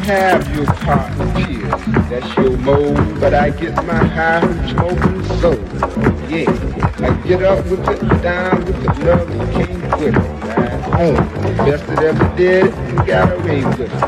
have your cotton tears, that's your mode, but I get my high from smoking soul. Oh yeah, I get up with it, down with it, love you can't quit it. Right home, best that ever did it, and got away with it.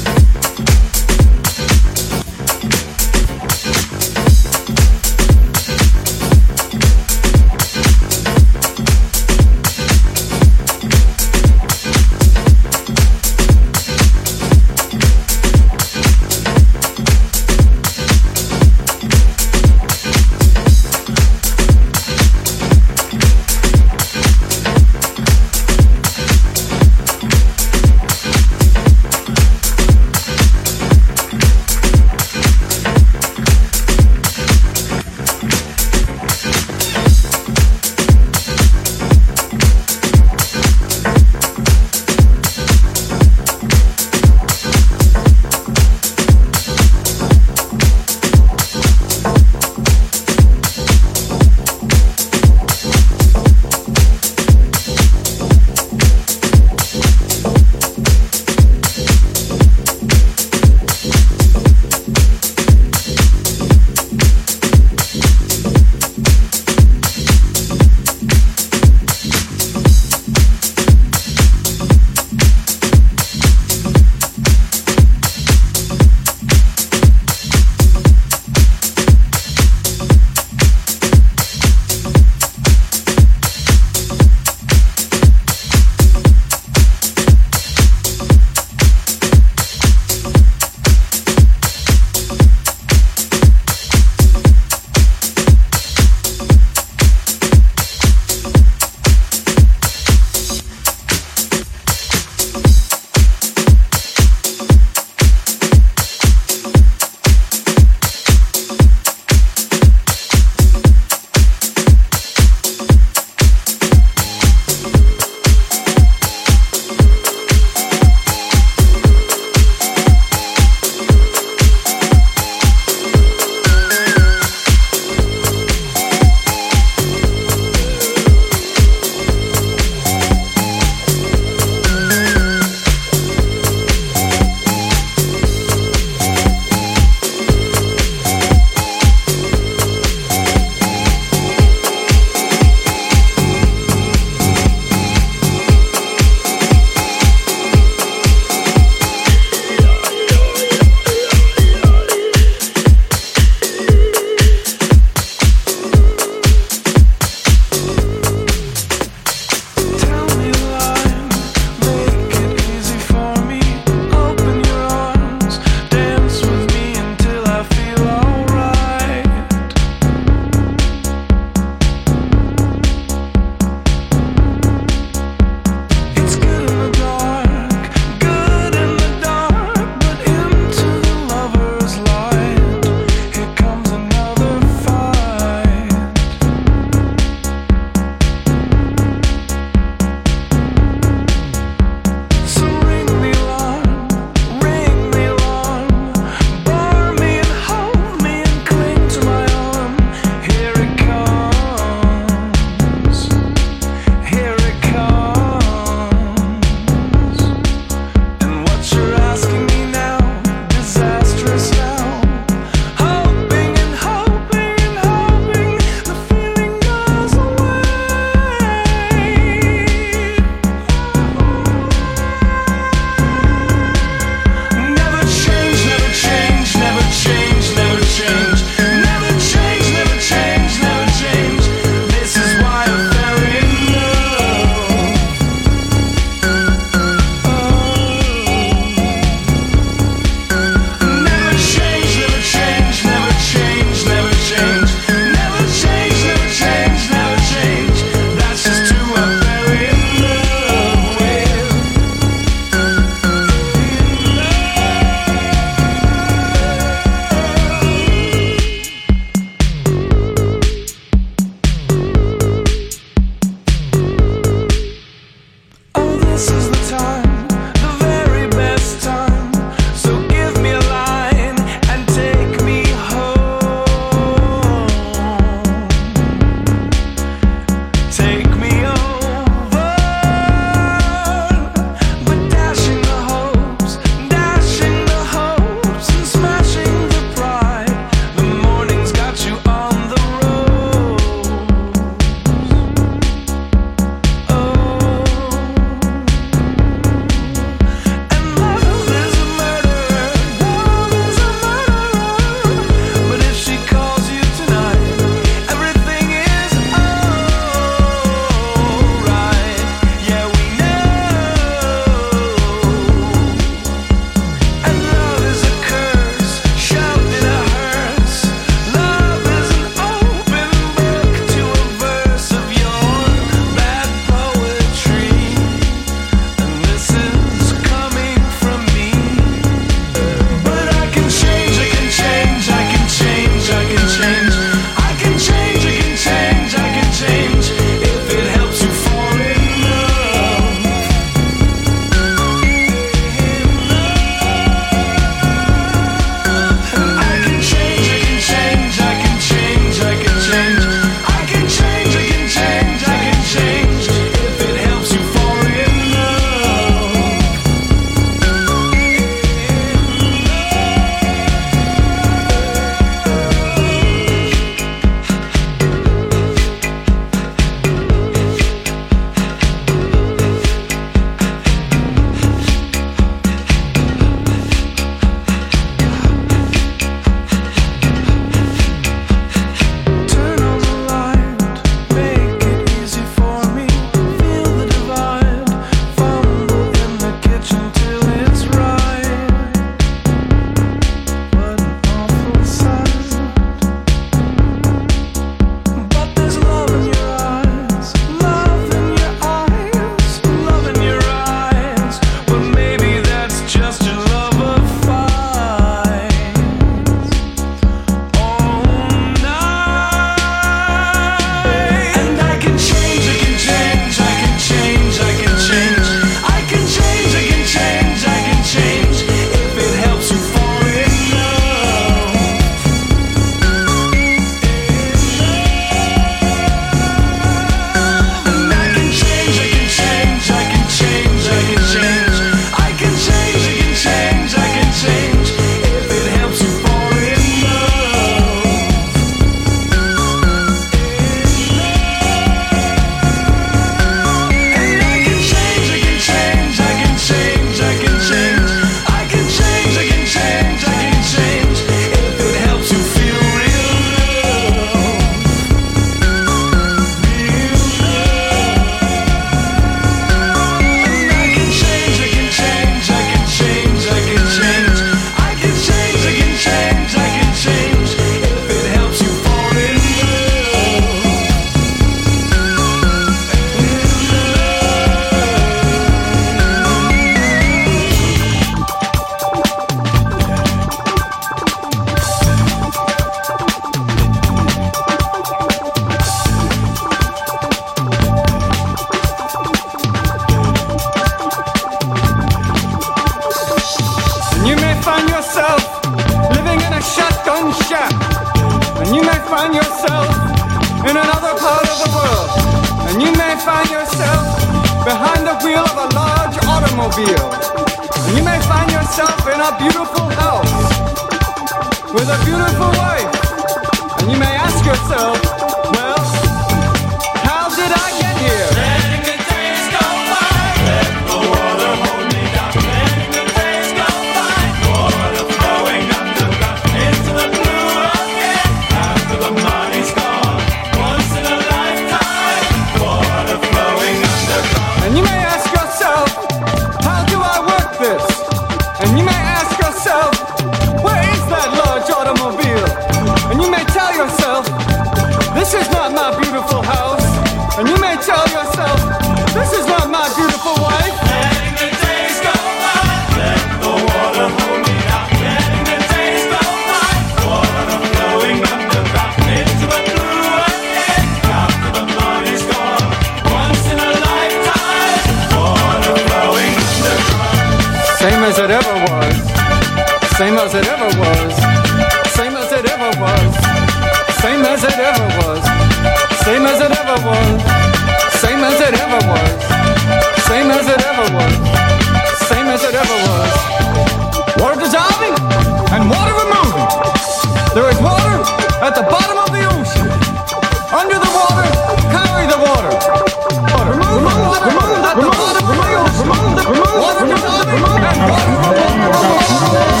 and you may find yourself in another part of the world, and you may find yourself behind the wheel of a large automobile, and you may find yourself in a beautiful house with a beautiful wife, and you may ask yourself, well, how did I get here? Letting the days go by, let the water hold me down. Letting the days go by, water flowing underground into the blue again. After the money's gone, once in a lifetime, water flowing underground. And you may ask yourself, how do I work this? And you may ask yourself, where is that large automobile? And you may tell yourself, this is not my beautiful house. And you may tell yourself, this is not my beautiful wife. Letting the days go by, let the water hold me down. Letting the days go by, water flowing underground into the blue again. After the money's gone, once in a lifetime, water flowing underground. Same as it ever was. Same as it ever was. Same as it ever was. Same as it ever was. Same as it ever was. Same as it ever was. Same as it ever was. Same as it ever was. Water dissolving and water removing. There is water at the bottom of the ocean. Under the water, carry the water. Remove the water at the bottom of the ocean. Water dissolving and water removing.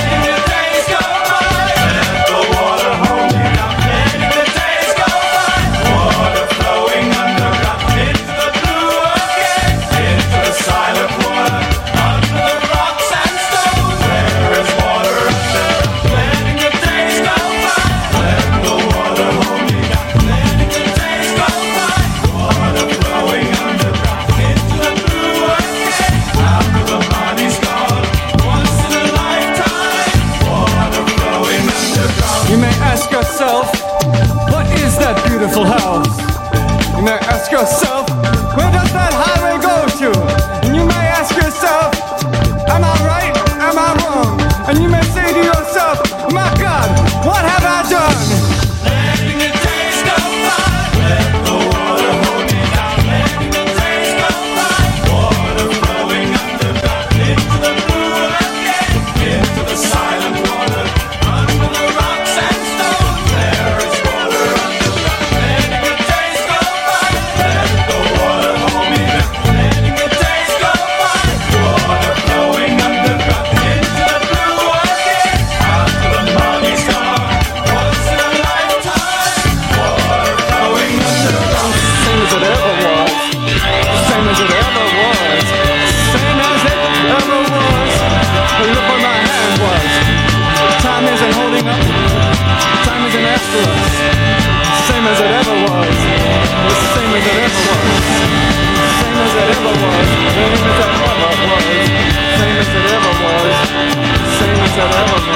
What is that beautiful house? You may ask yourself, where does that highway go to? And you may ask yourself, am I right? Am I wrong? And you may say to yourself, my God, what have I done? Letting the days go by, let the water hold me down. Letting the days go by, water flowing underground into the blue again, into the silent water, under the rocks and stones. There is water underground. Letting the days go by, let the water hold me down. Letting the days go by, water flowing underground into the blue again. After the money's gone, once in a lifetime, water flowing underground. Same as it ever was. Same as it ever was. Same as it ever was. But look where my hand was. Time isn't holding up. Time isn't after us. Same as it ever was. The same as it ever was. Same as it ever was. Same as it ever was. Same as it ever was. Same as it ever was.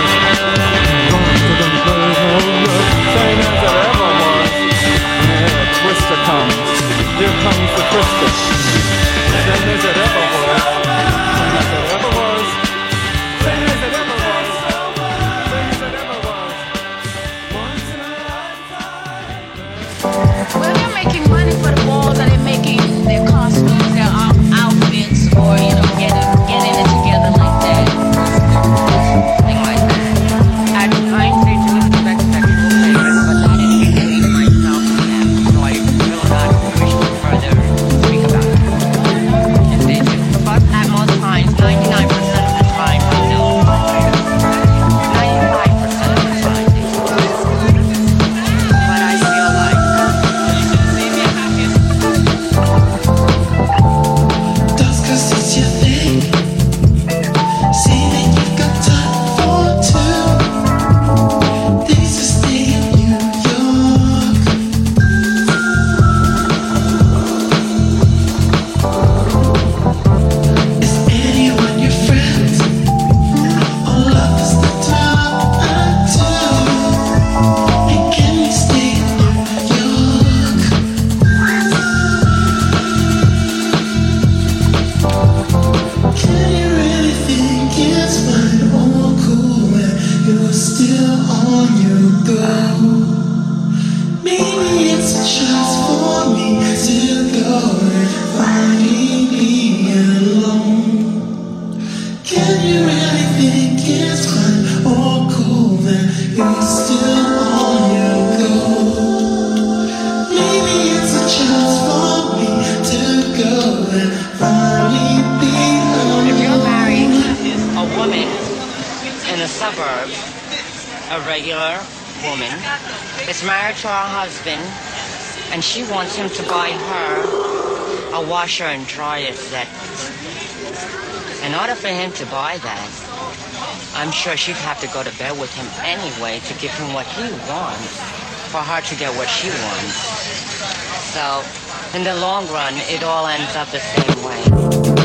Same as it ever was. Yeah, Twister comes. Here comes the Twister. Same as it ever was. Same as it ever was. Same as it ever was. Same as it ever was. Once in a lifetime. Well, they're making money for the balls that they're making their costumes, their outfits, or getting it together like that. Thing like that. I ain't say to expect sexual favors, but that indicates myself to them, so I will not wish to further speak about it. If they do, but at most times, 99% of the time, I know. 95% of the time, they do. But I feel like You're still on your go. If you're married a woman in the suburbs, a regular woman is married to her husband, and she wants him to buy her a washer and dryer set. In order for him to buy that, I'm sure she'd have to go to bed with him anyway to give him what he wants, for her to get what she wants. So, in the long run, it all ends up the same way.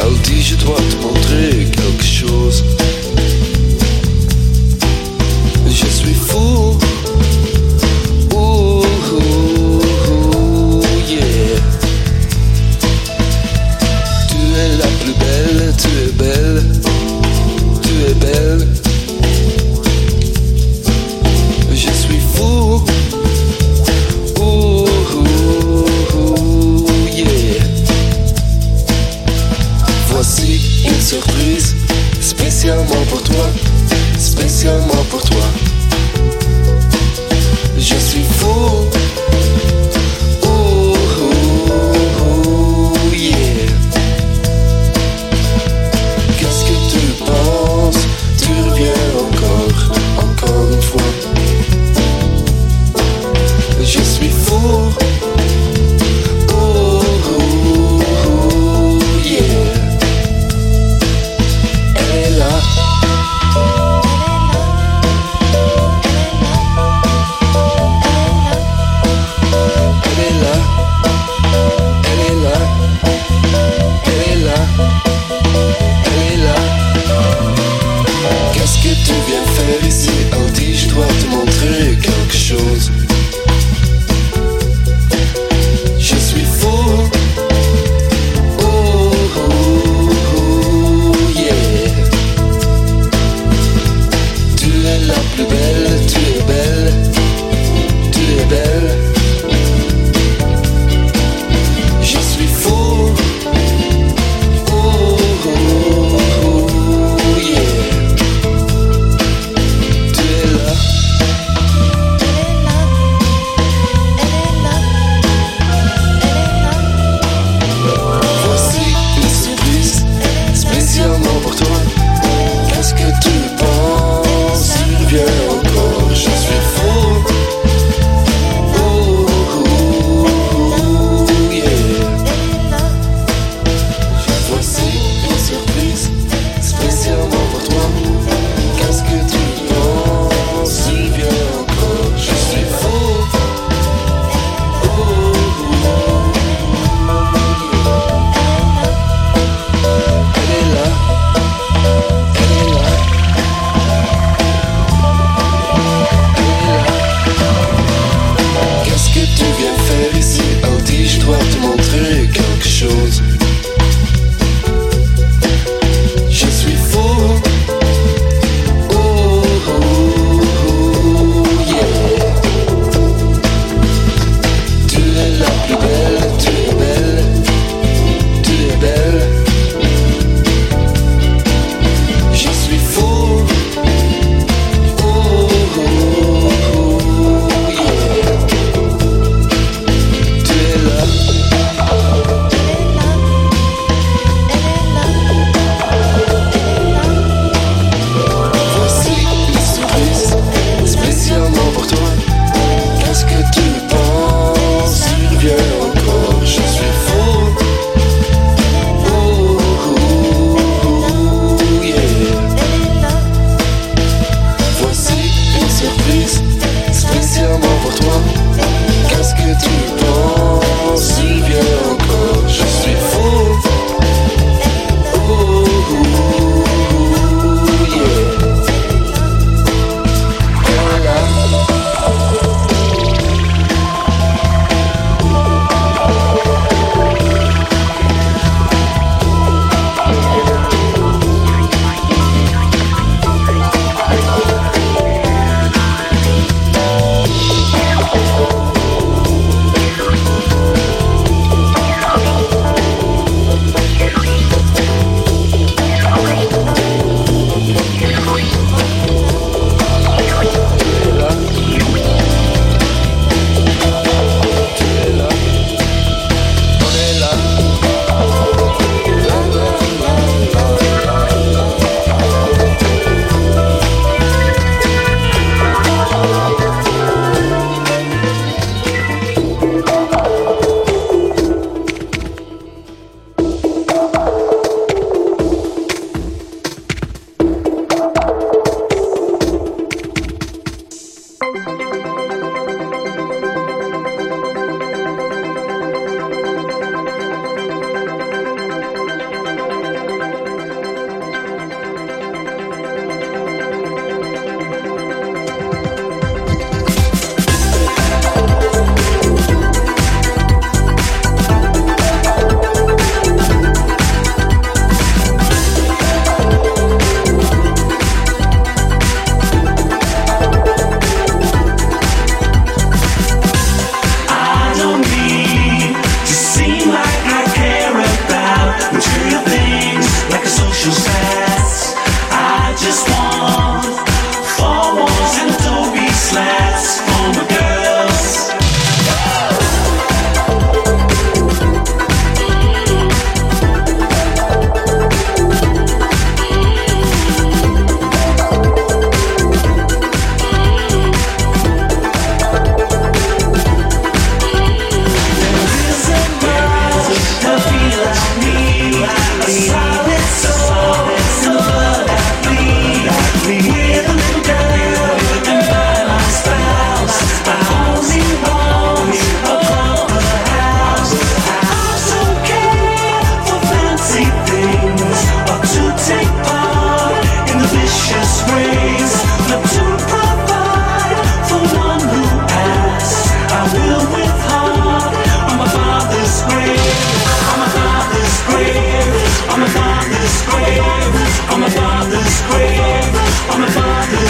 Elle dit je dois te montrer quelque chose. Je suis fou. Ouh, yeah. Tu es la plus belle, tu es belle, tu es belle. Je suis fou. Ouh, yeah. Voici une surprise, spécialement pour toi, spécialement pour toi. Je suis fou. Ouh, yeah. Qu'est-ce que tu penses? Tu reviens encore une fois. Je suis fou. Ouh, yeah. Elle est là. Elle est là.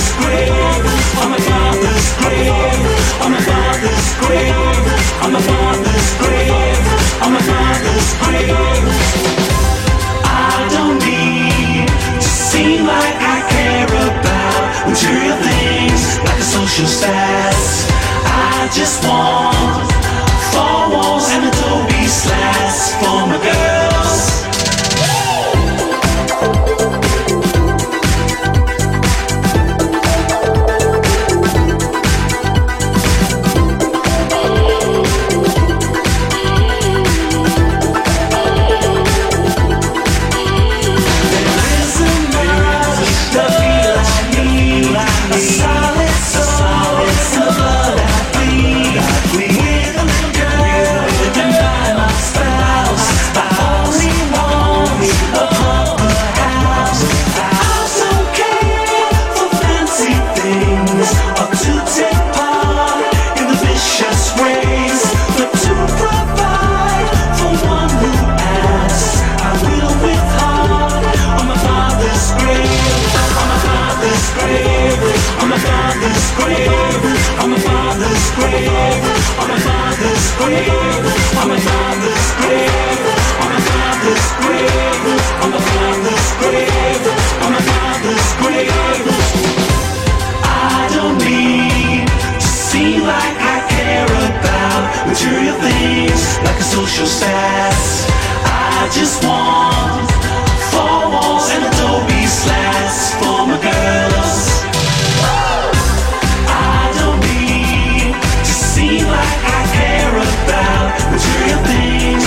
father's grave, on my father's grave, on my father's grave, on my father's grave, on my father's grave. I don't need to seem like I care about material things like a social status. I just want 4 walls and adobe slats for my girls. Things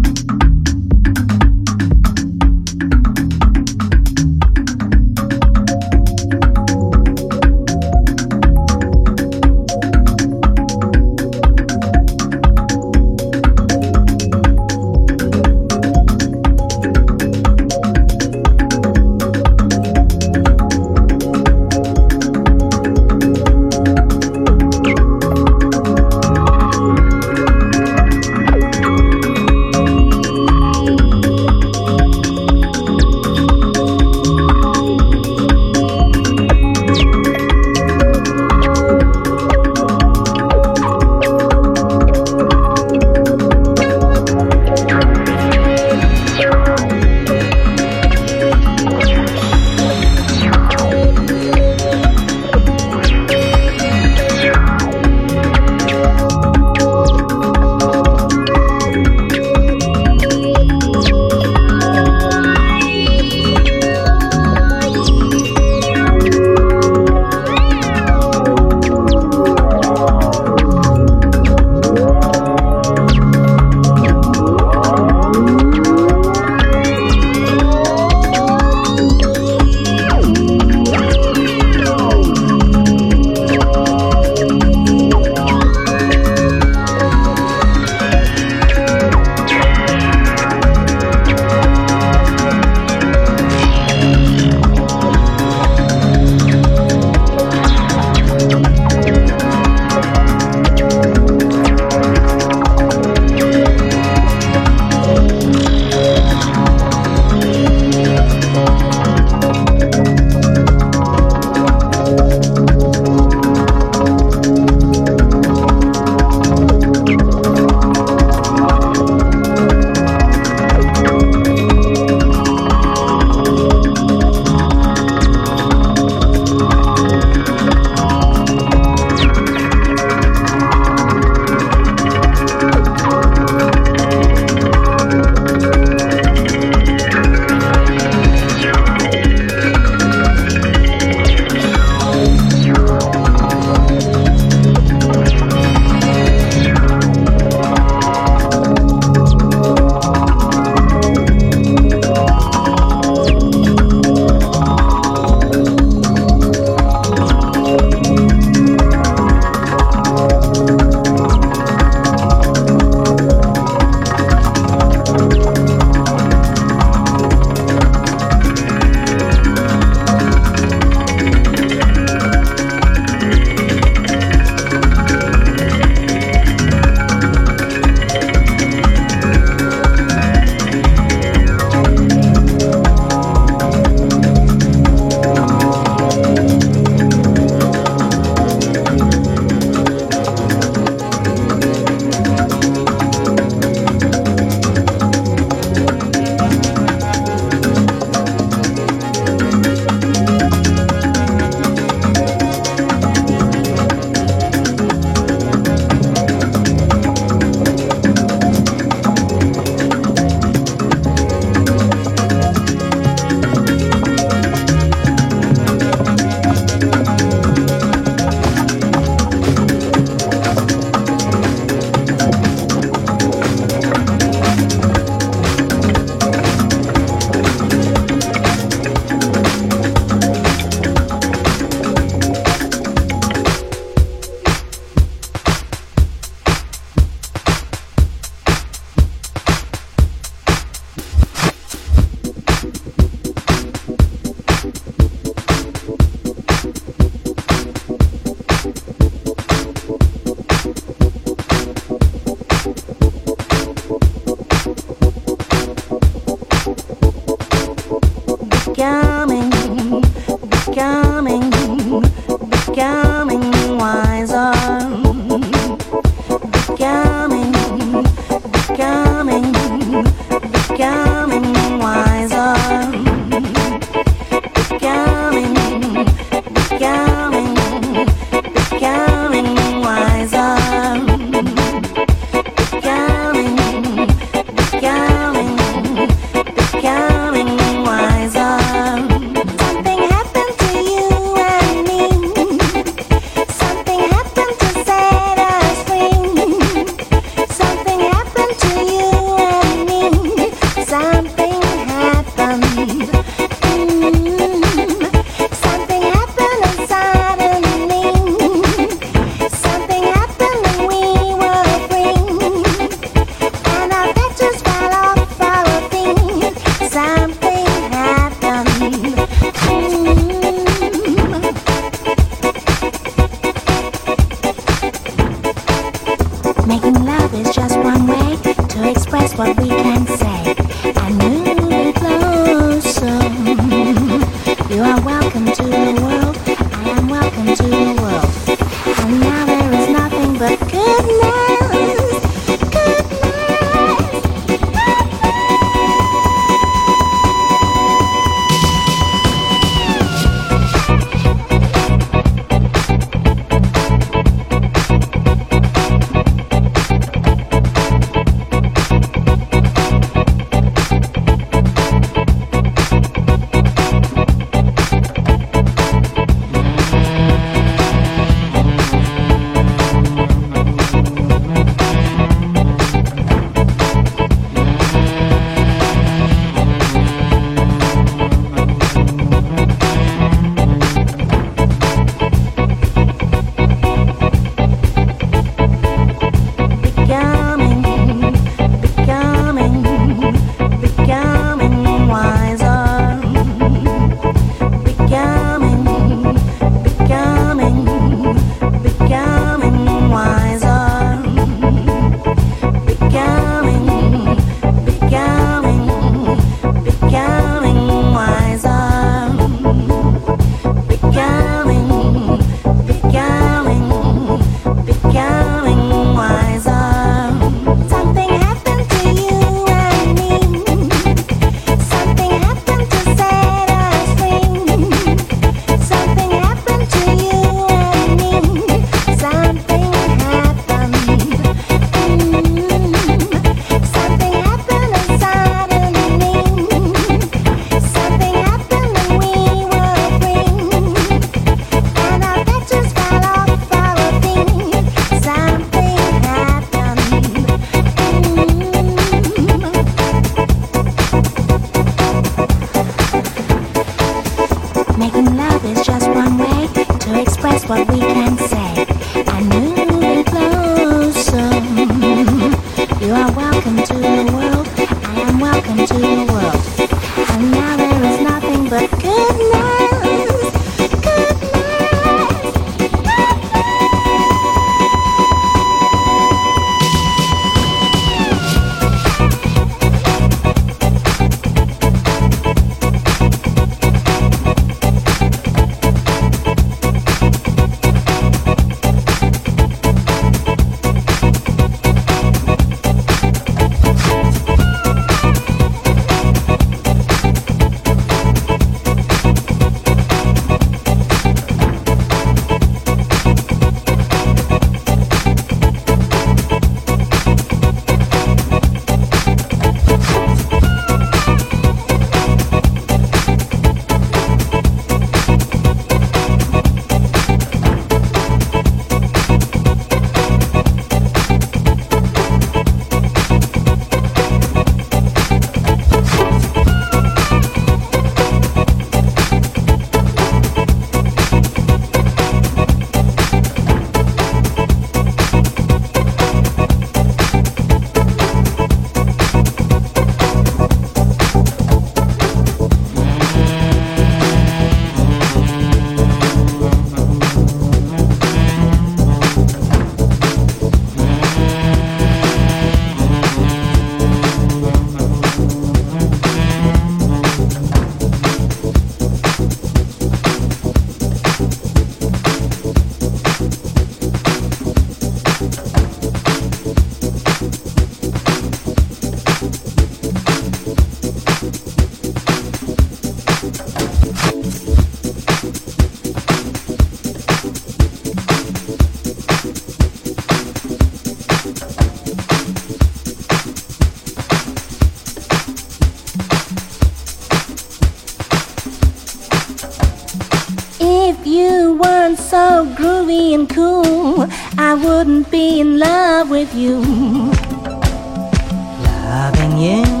you weren't so groovy and cool, I wouldn't be in love with you. Loving you